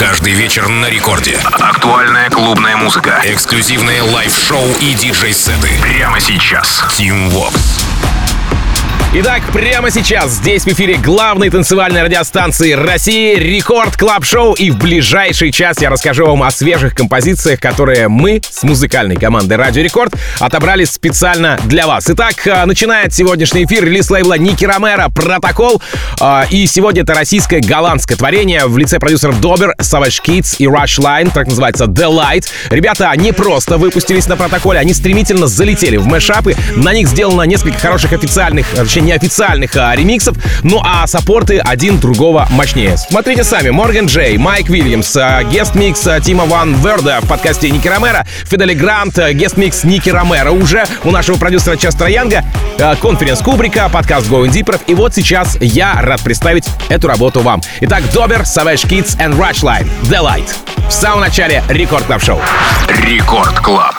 Каждый вечер на рекорде. Актуальная клубная музыка. Эксклюзивные лайв-шоу и диджей-сеты. Прямо сейчас. Team Vox. Итак, прямо сейчас здесь в эфире главной танцевальной радиостанции России Рекорд Клаб Шоу, и в ближайший час я расскажу вам о свежих композициях, которые мы с музыкальной командой Радио Рекорд отобрали специально для вас. Итак, начинает сегодняшний эфир релиз лейбла Ники Ромеро «Протокол», и сегодня это российское голландское творение в лице продюсеров Добер, Savage Kids и Rush Line, так называется The Light. Ребята не просто выпустились на Протоколе, они стремительно залетели в мэшапы, на них сделано несколько хороших официальных, точнее неофициальных ремиксов, ну а саппорты один другого мощнее. Смотрите сами: Морган Джей, Майк Уильямс, гест-микс Тима Ван Верда в подкасте Ники Ромеро, Фидели Грант, гест-микс Ники Ромеро уже у нашего продюсера Честера Янга, конференс Кубрика, подкаст Going Deeper, и вот сейчас я рад представить эту работу вам. Итак, Добер, Savage Kids and Rush Line, The Light. В самом начале Рекорд Клаб Шоу. Рекорд Клаб.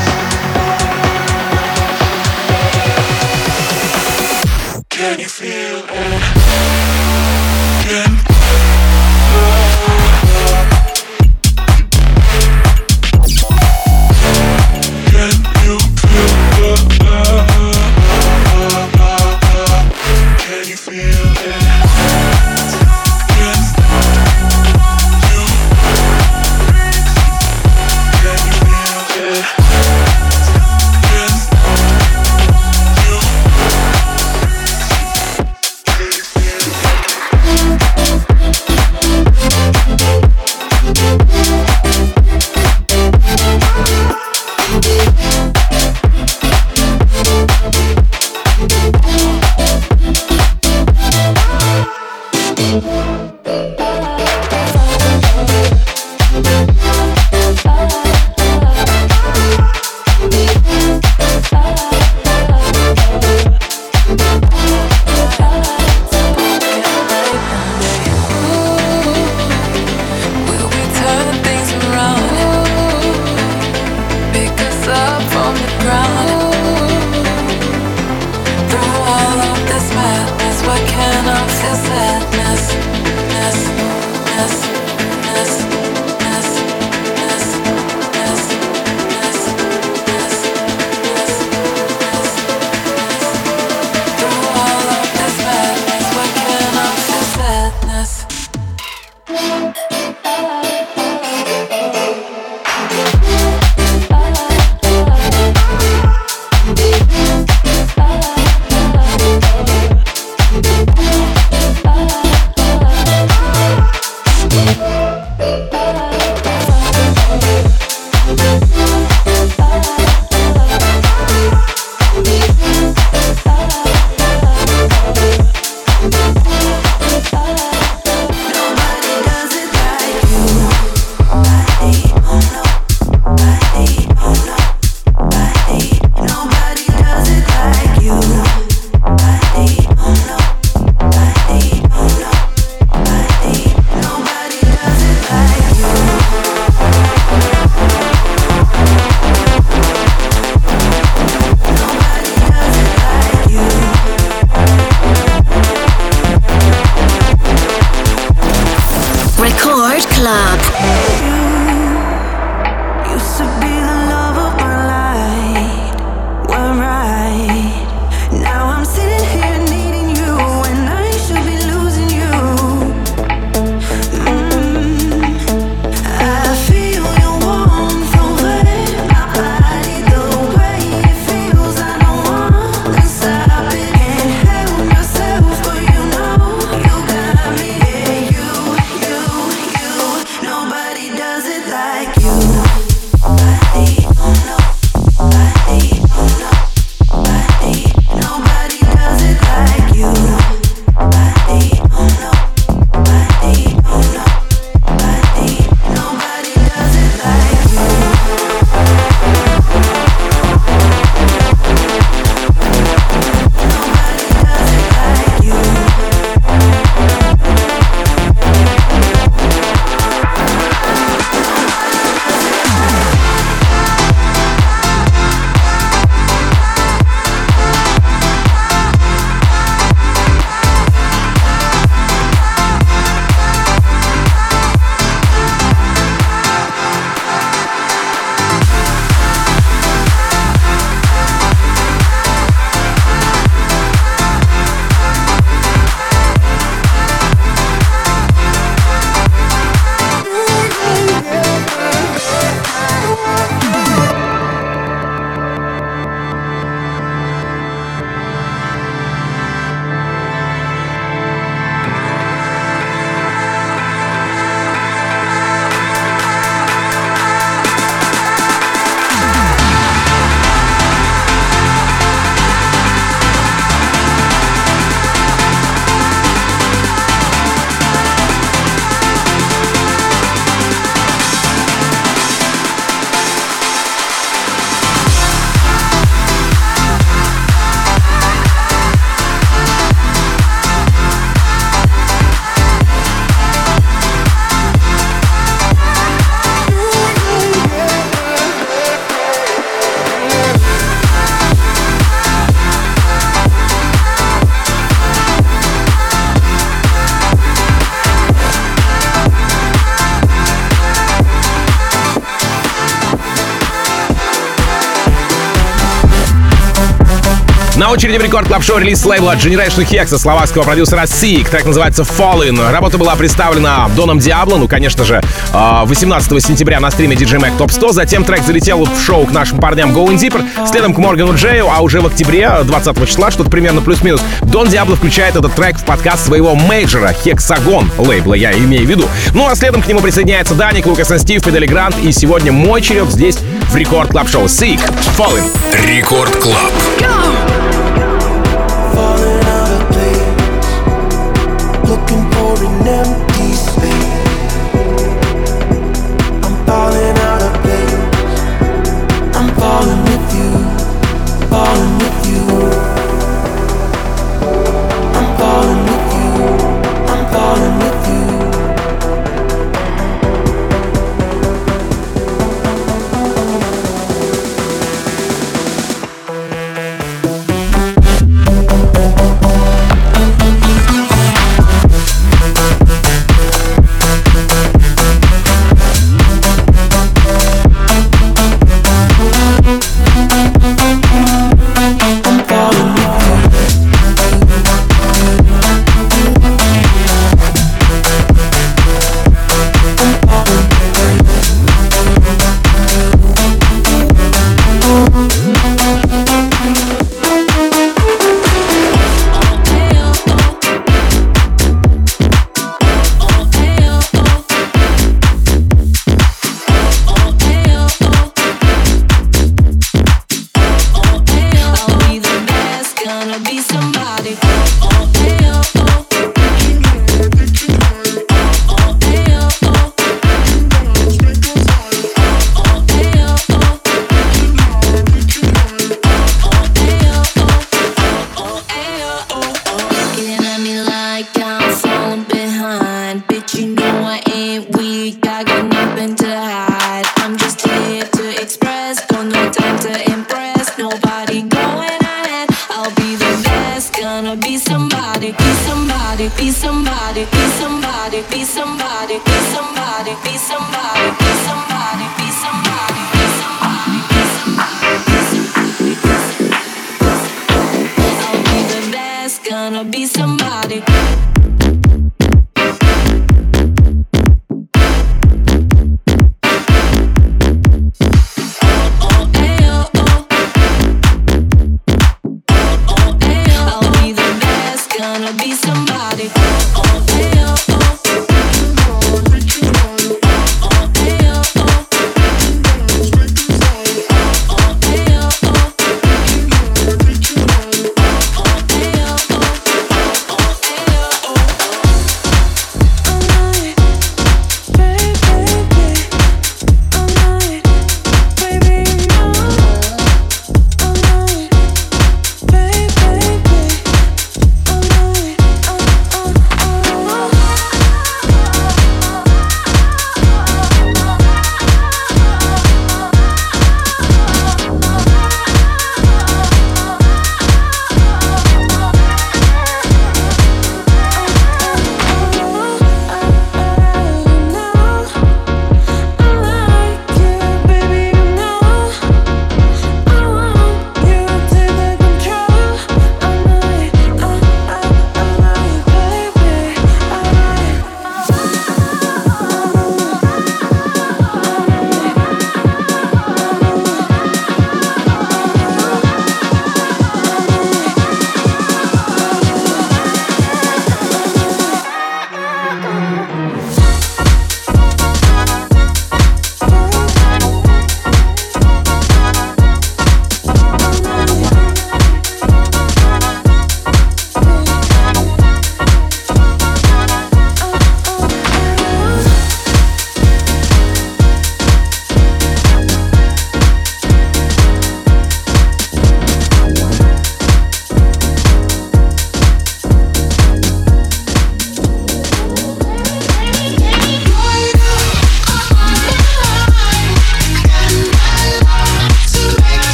Can you feel На очереди в Рекорд Клаб Шоу релиз с лейбла Generation Hex словакского продюсера Seek. Трек называется Fallen. Работа была представлена Доном Диабло, ну, конечно же, 18 сентября на стриме DJ Mag Top 100. Затем трек залетел в шоу к нашим парням Going Deeper, следом к Моргану Джею, а уже в октябре, 20 числа, что-то примерно плюс-минус, Дон Диабло включает этот трек в подкаст своего мейджора Hexagon лейбла, я имею в виду. Ну а следом к нему присоединяется Даник, Лукас и Стив, Педали Грант, и сегодня мой черед здесь в Рекорд Клаб Шоу. Seek, Fallen. Рекорд Клаб. Looking for an empty space. I'm falling out of place. I'm falling with you, falling with you. I'm falling with you, I'm falling with you.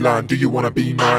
line. Do you wanna be mine?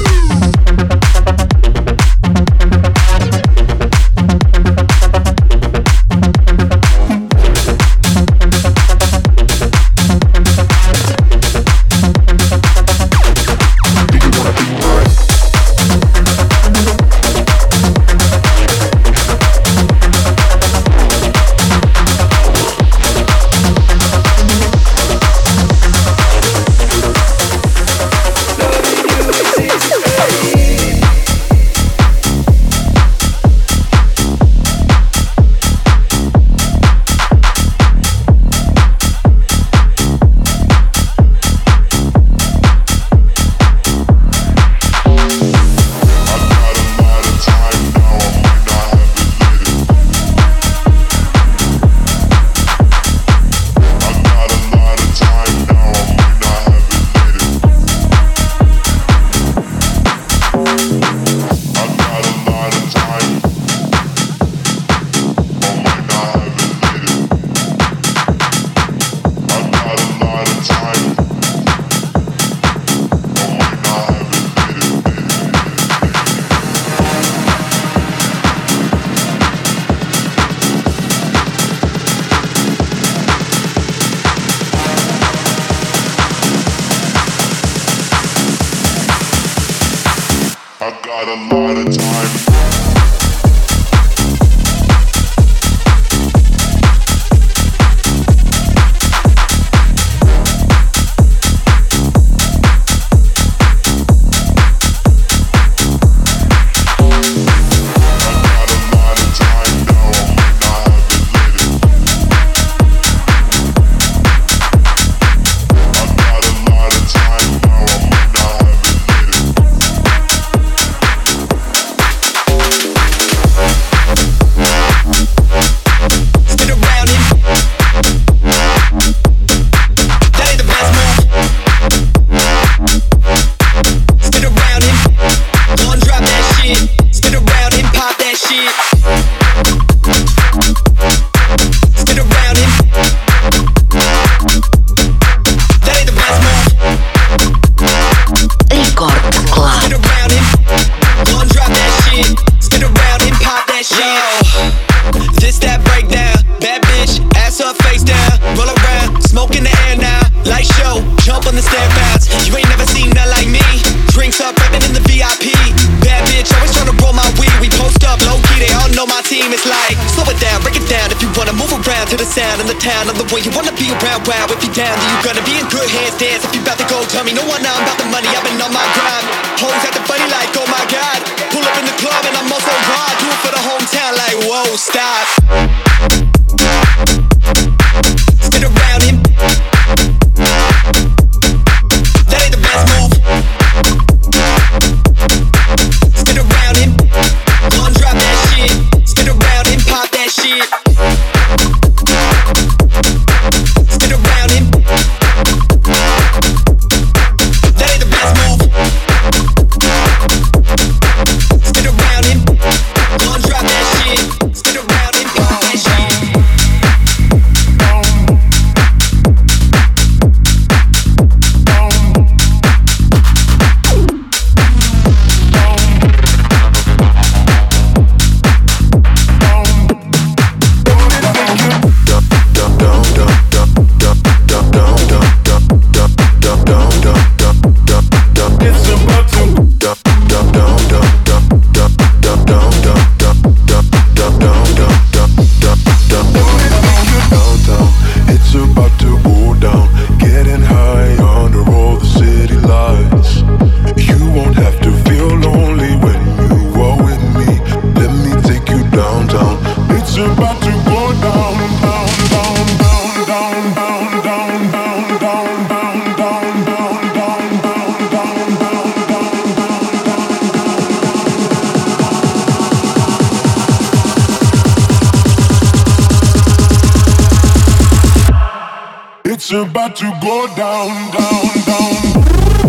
It's about to go down, down, down,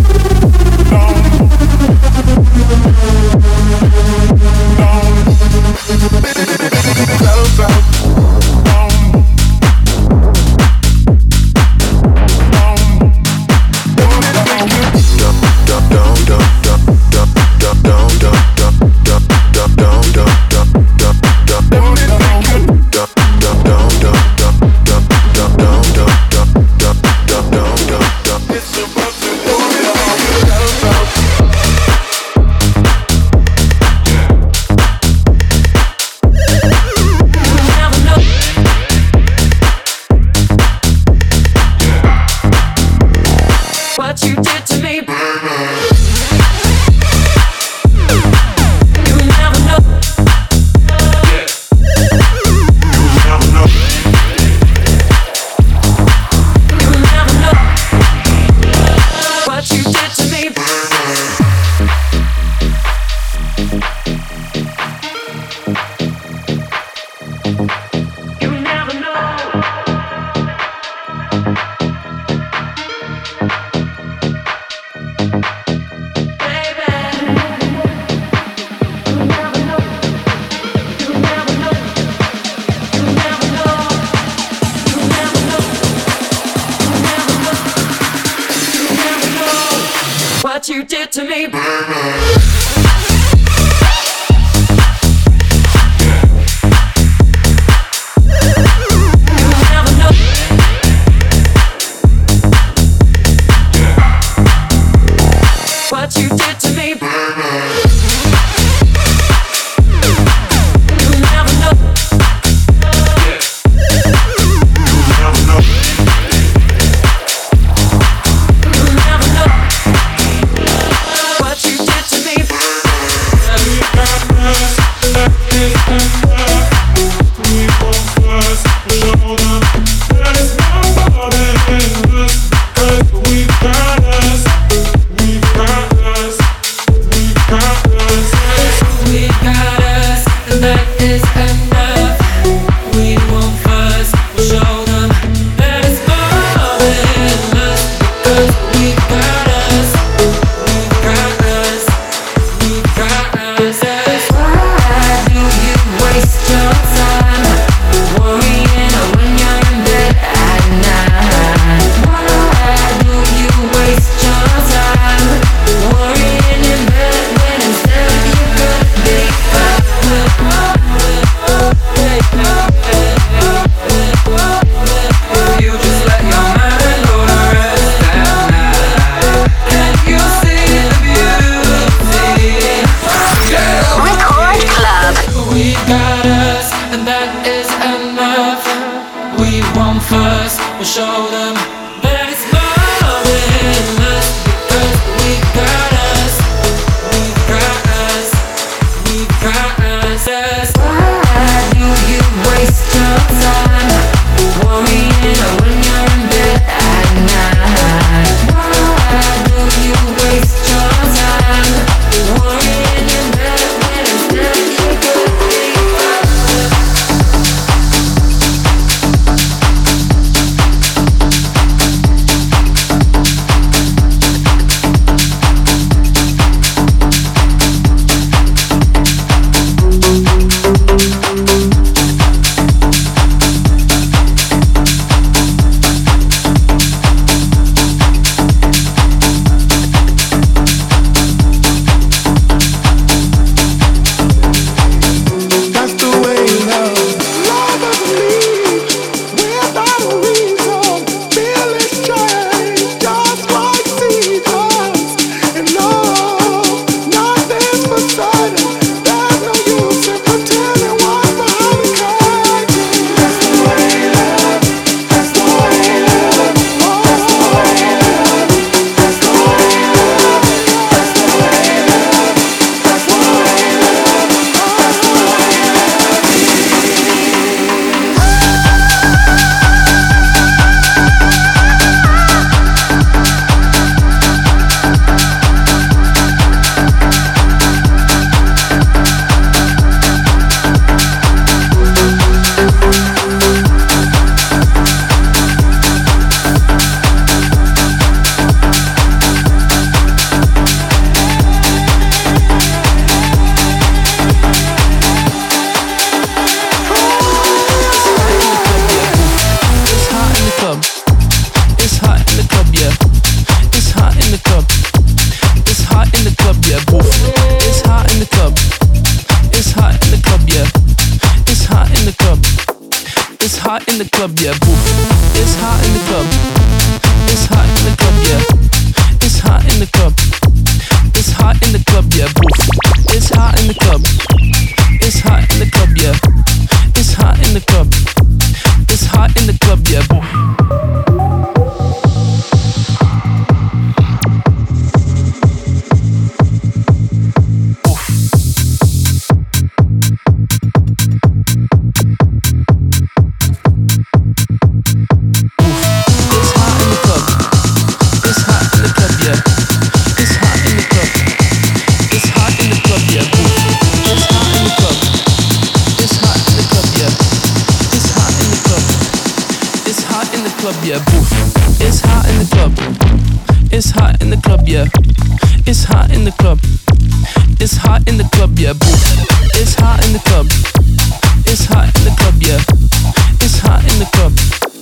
down, down. Clouds out, down, down, down. what you did to me. What you did to me. You'll never know. You'll never know. You'll never know what you did to me.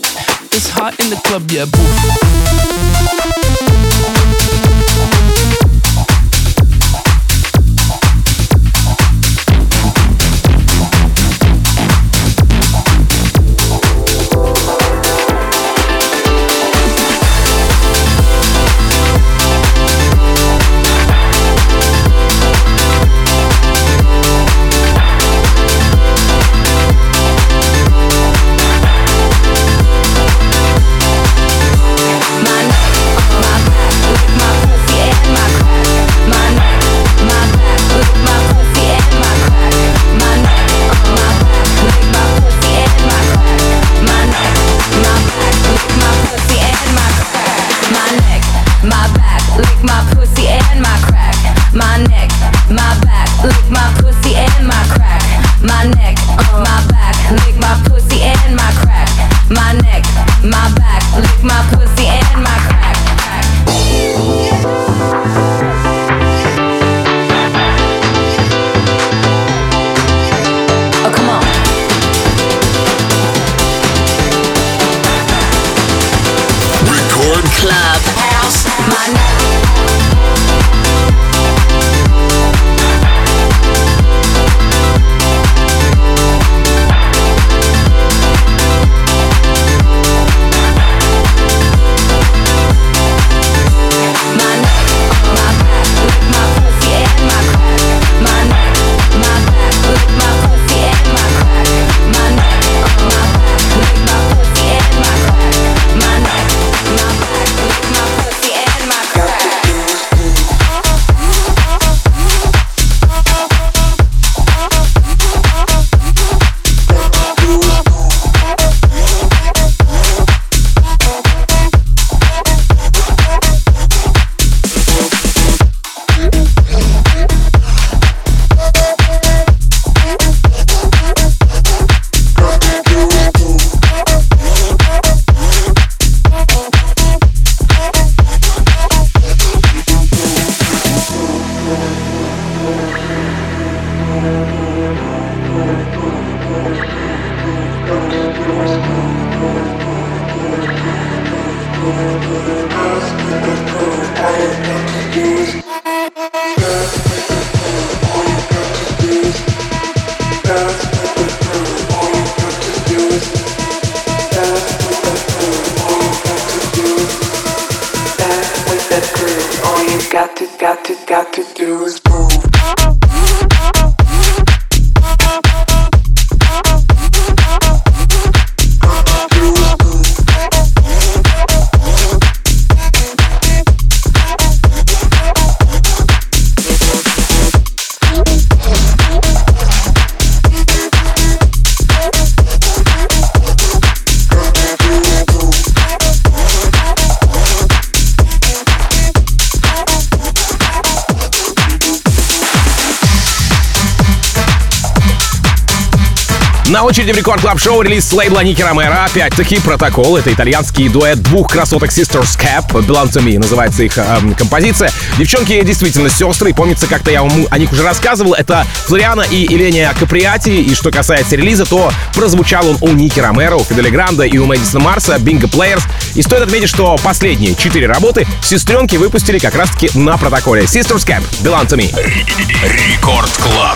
It's hot in the club, yeah, boo. got to do is move. На очереди в Рекорд Клаб Шоу релиз с лейбла Ники Ромеро. Опять-таки «Протокол». Это итальянский дуэт двух красоток Sisters Cap. «Belong to Me» называется их композиция. Девчонки действительно сестры. И помнится, как-то я вам о них уже рассказывал. Это Флориана и Эления Каприати. И что касается релиза, то прозвучал он у Ники Ромеро, у Фиделя Гранда и у Мэдисона Марса, Bingo Players. И стоит отметить, что последние 4 работы сестренки выпустили как раз-таки на «Протоколе». Sisters Cap, «Belong to Me». Рекорд Клаб.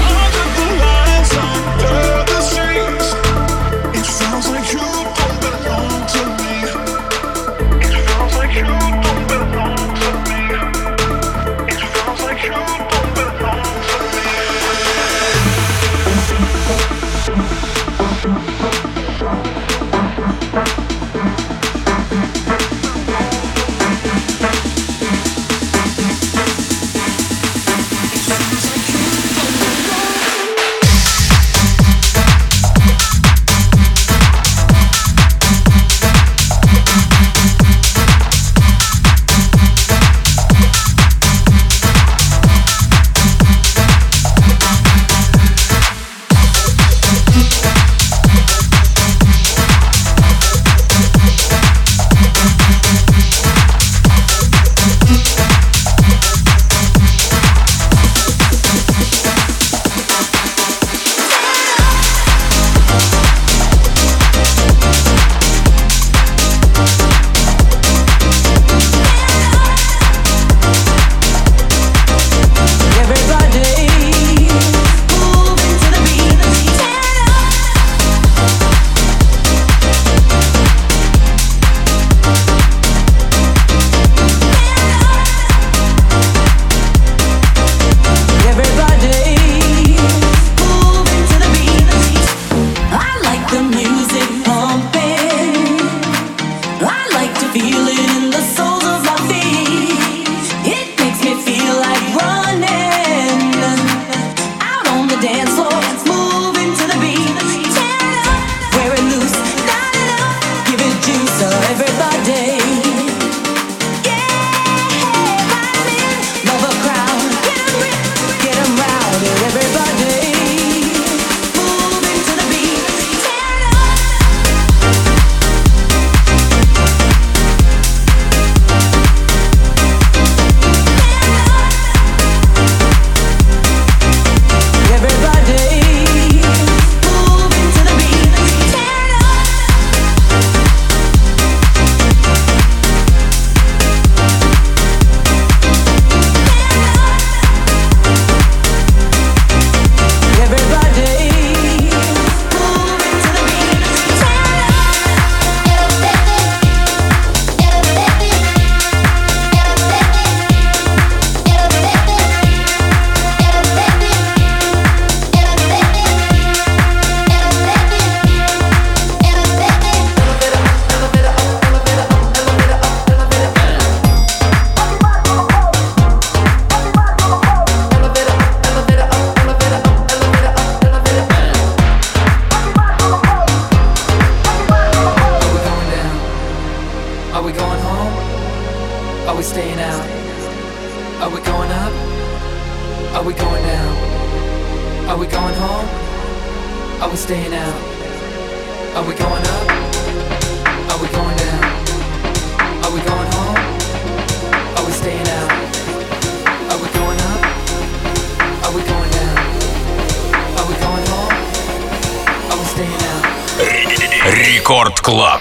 Рекорд Клаб.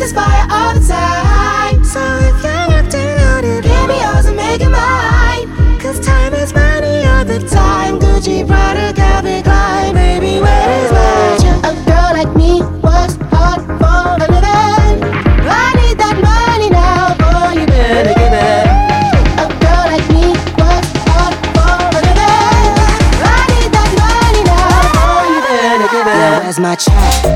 this fire all the time. So if you're acting on it, baby, yours and make it mine. Cause time is money all the time. Gucci, Prada, Calvin Klein. Baby, where is my check? A girl like me works hard for a living. I need that money now, boy, you better give it. A girl like me works hard for a living. I need that money now, boy, you better give it. Now where's my check?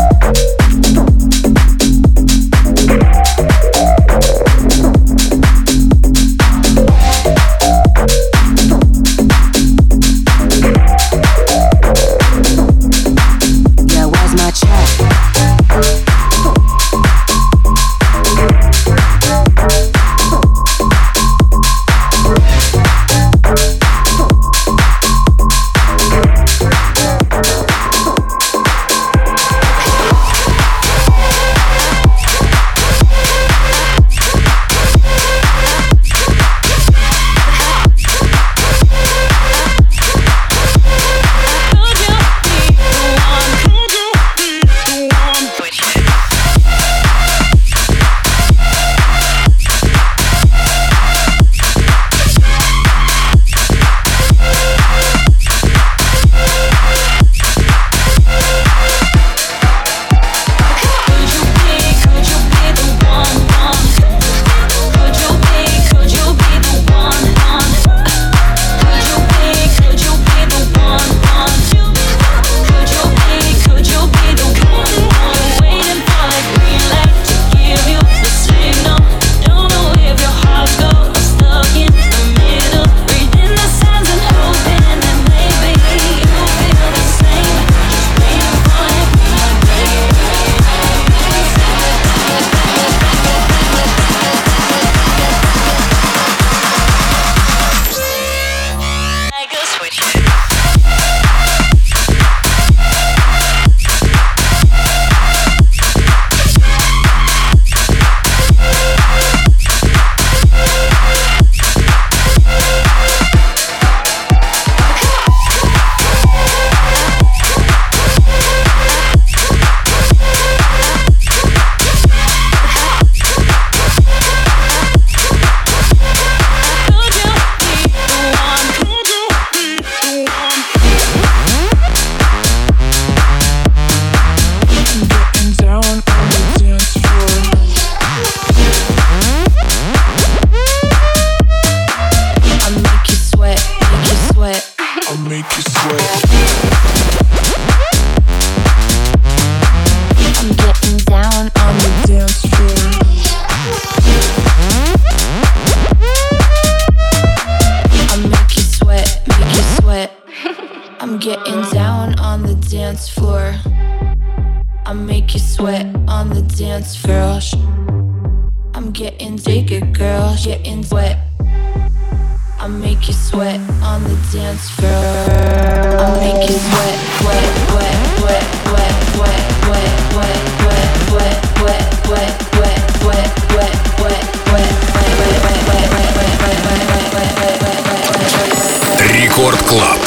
Рекорд Клаб.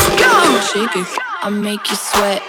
I'll make you sweat.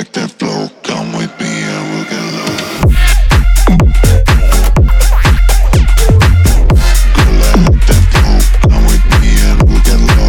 like that flow, come with me and we'll get low. Girl, I like that flow, come with me and we'll get low.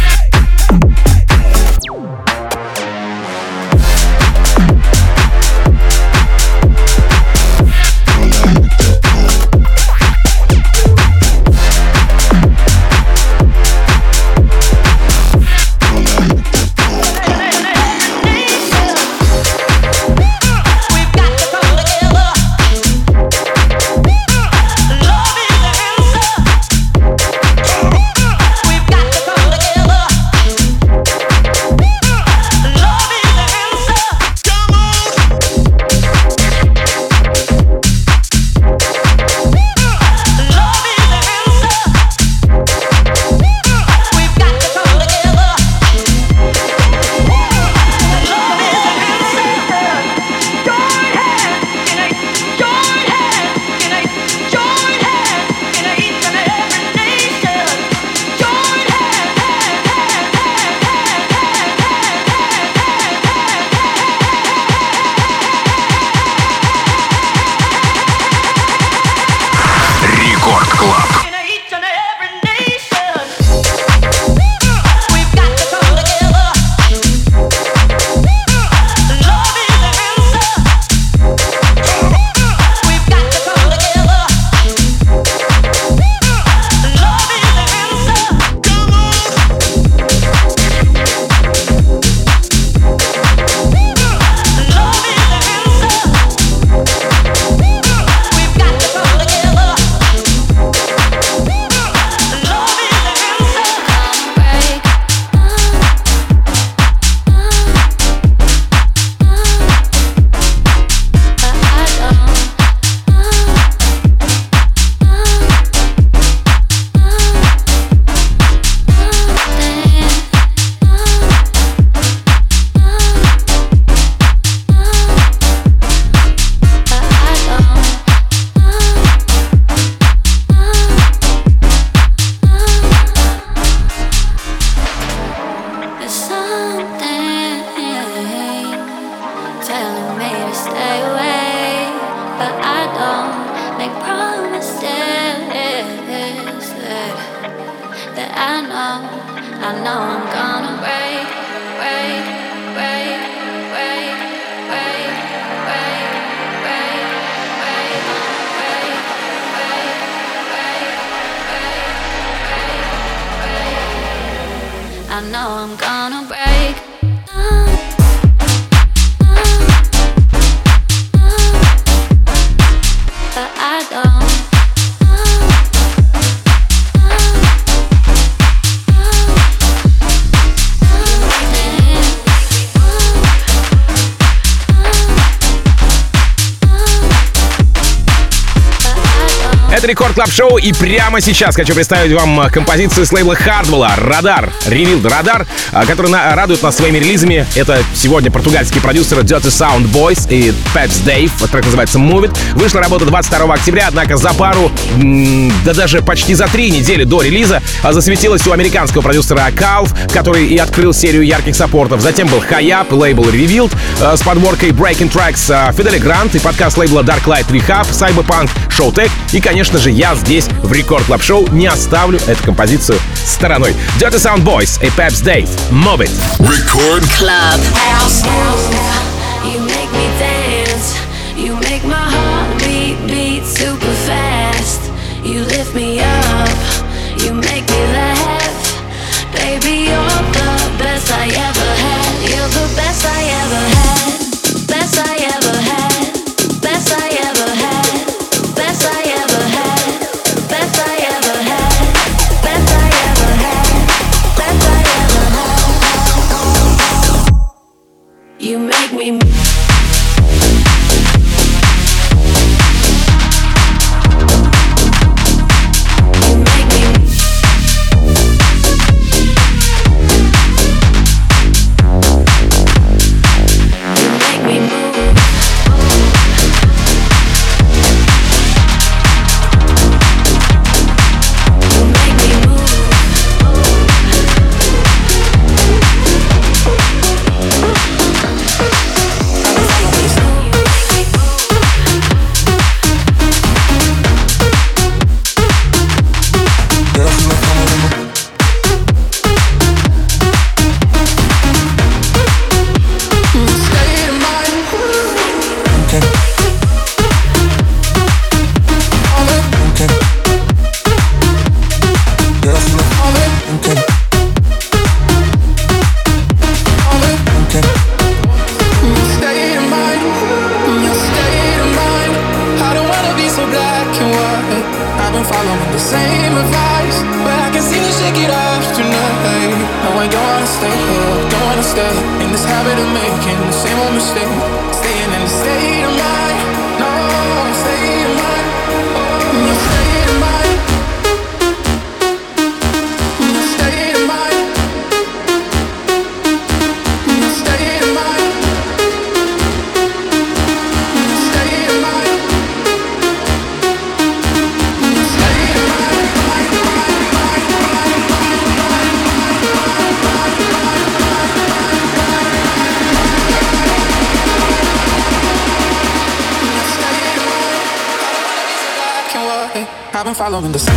Это Рекорд Клаб Шоу, и прямо сейчас хочу представить вам композицию с лейбла Hardwell «Радар», Revealed «Радар», который радует нас своими релизами. Это сегодня португальские продюсеры Dirty Sound Boys и Peps Dave. Трек называется Move It. Вышла работа 22 октября, однако за пару, да даже почти за 3 недели до релиза засветилась у американского продюсера Calf, который и открыл серию ярких саппортов. Затем был Hi-Up, лейбл Revealed с подборкой Breaking Tracks Фидели Грант и подкаст лейбла Darklight Rehab, Cyberpunk, Showtech. И, конечно же, я здесь в Рекорд Клаб Шоу не оставлю эту композицию стороной. Dirty Sound Boys и Peps Dave. Move It. Record Club. You make me dance. You make my heart beat super fast. You lift me up. You make me laugh. Baby, you're the best I ever had. You're the best I ever had. Best I ever had. Best I ever had. Best I ever had. Best I ever had. Best I ever had. Best I ever had. You make me. Staying in the state of mind. No, state of mind. Oh, state of mind. State of mind. State of mind. State of mind. I've been following the sun.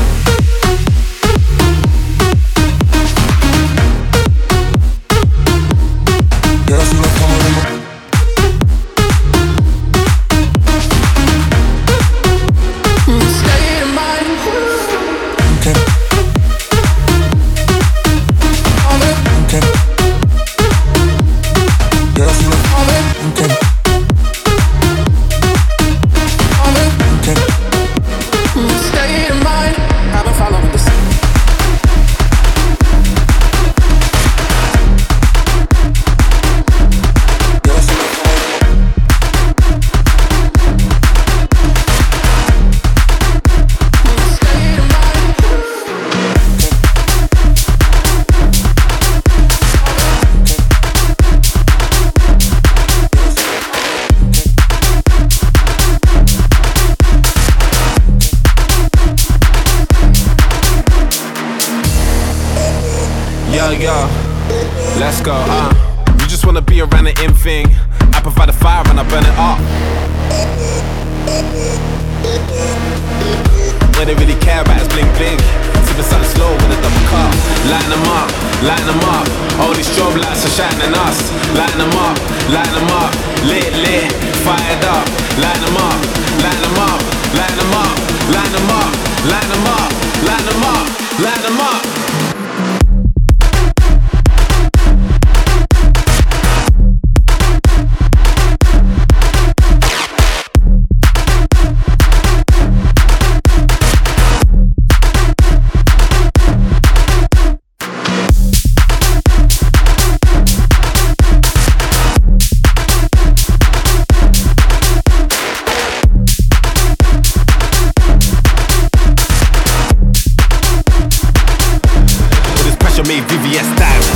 Yo, let's go, You just wanna be around the in thing. I provide the fire and I burn it up. What they really care about is bling bling. Sipping something slow with a double cup. Lighten them up, lighten them up. All these strobe lights are shining us. Lighten them up, lighten them up. Lit, lit, fired up. Lighten them up, lighten them up, lighten them up, lighten them up, lighten them up, lighten them up, lighten them up. VVS style.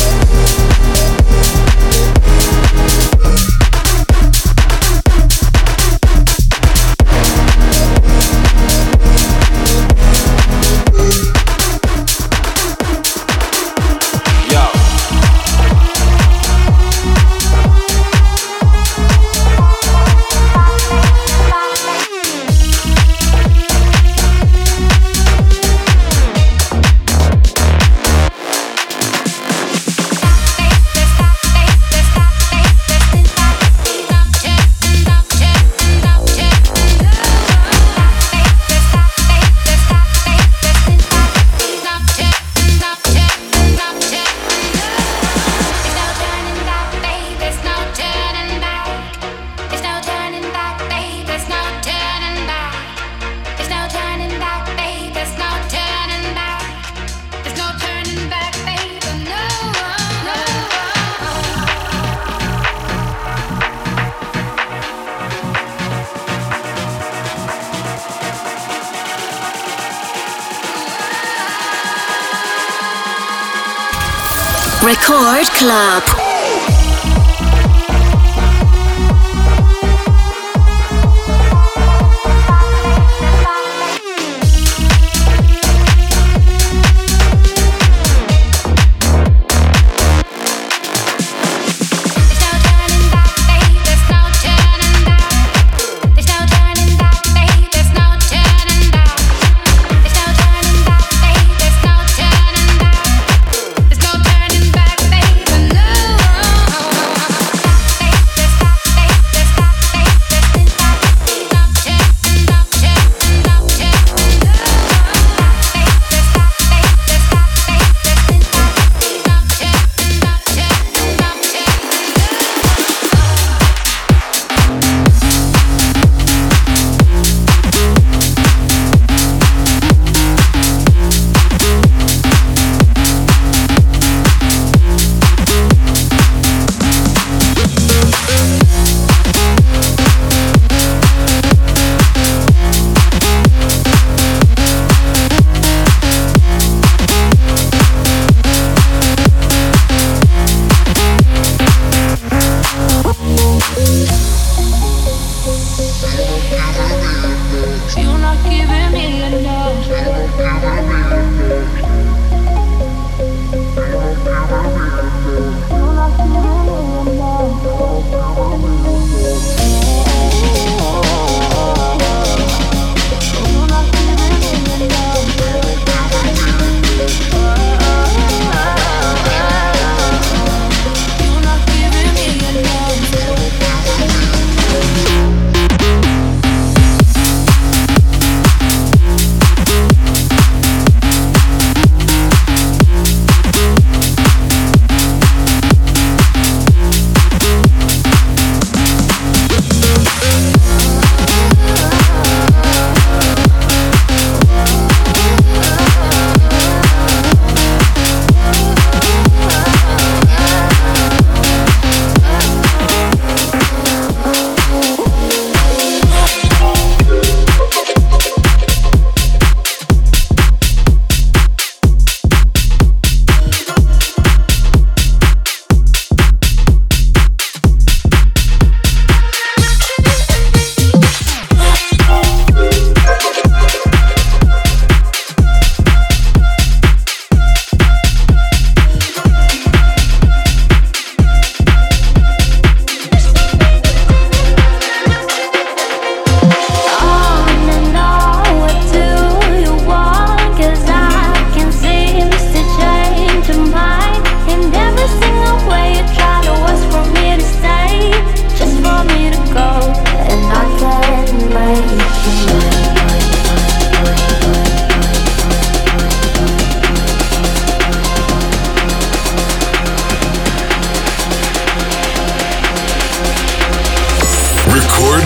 Record Club. No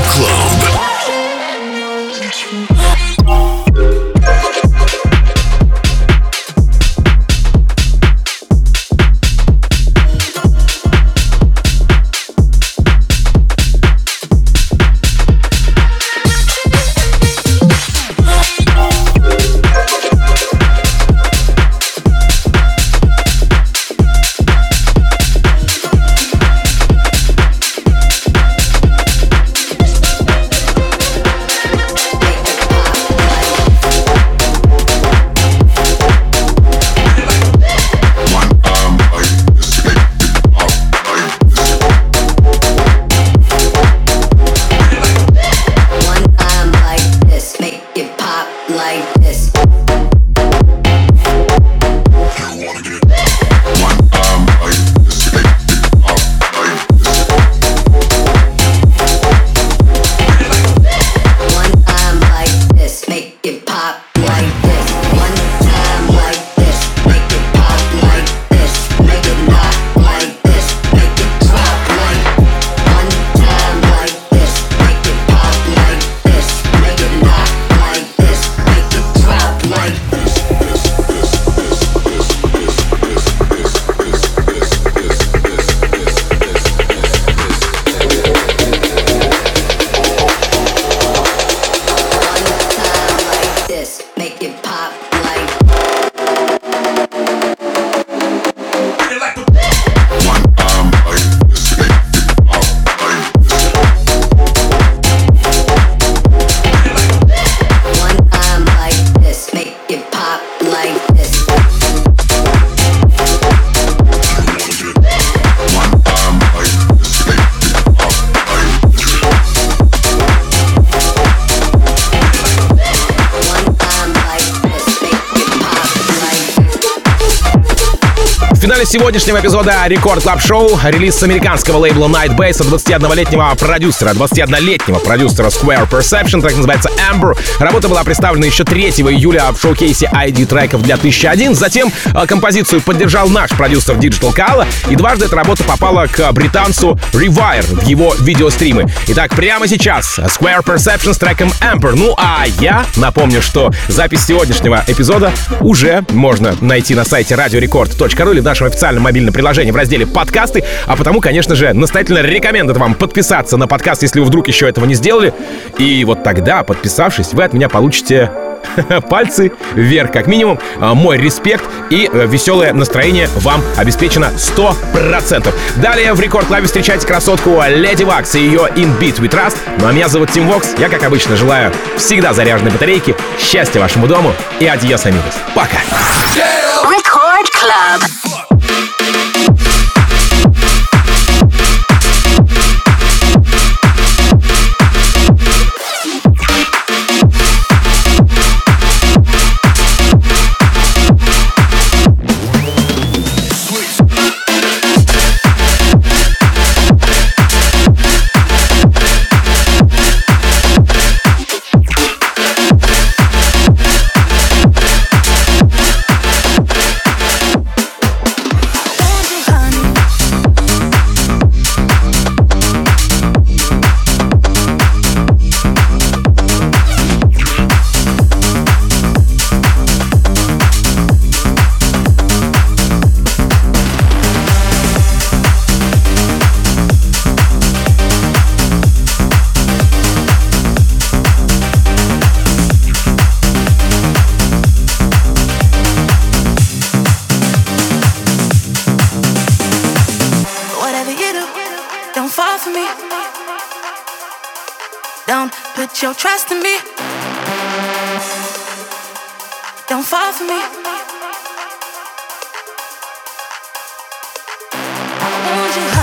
Club. В финале сегодняшнего эпизода Рекорд Клаб Шоу релиз с американского лейбла Nightbase от 21-летнего продюсера Square Perception, так называется Amber. Работа была представлена еще 3 июля в шоу-кейсе ID треков для 1001. Затем композицию поддержал наш продюсер Digital Kala, и дважды эта работа попала к британцу Rewire в его видеостримы. Итак, прямо сейчас Square Perception с треком Amber. Ну а я напомню, что запись сегодняшнего эпизода уже можно найти на сайте radiorecord.ru или в нашем официальном мобильном приложении в разделе «Подкасты», а потому, конечно же, настоятельно рекомендую вам подписаться на подкаст, если вы вдруг еще этого не сделали. И вот тогда, подписавшись, вы от меня получите пальцы вверх, как минимум, мой респект и веселое настроение вам обеспечено 100%. Далее в Рекорд Клабе встречайте красотку Леди Вакс и ее In Beat We Trust. Ну а меня зовут Тим Вокс. Я, как обычно, желаю всегда заряженной батарейки, счастья вашему дому и адьос, амигос. Пока! Record Club. Don't put your trust in me. Don't fall for me. I want you.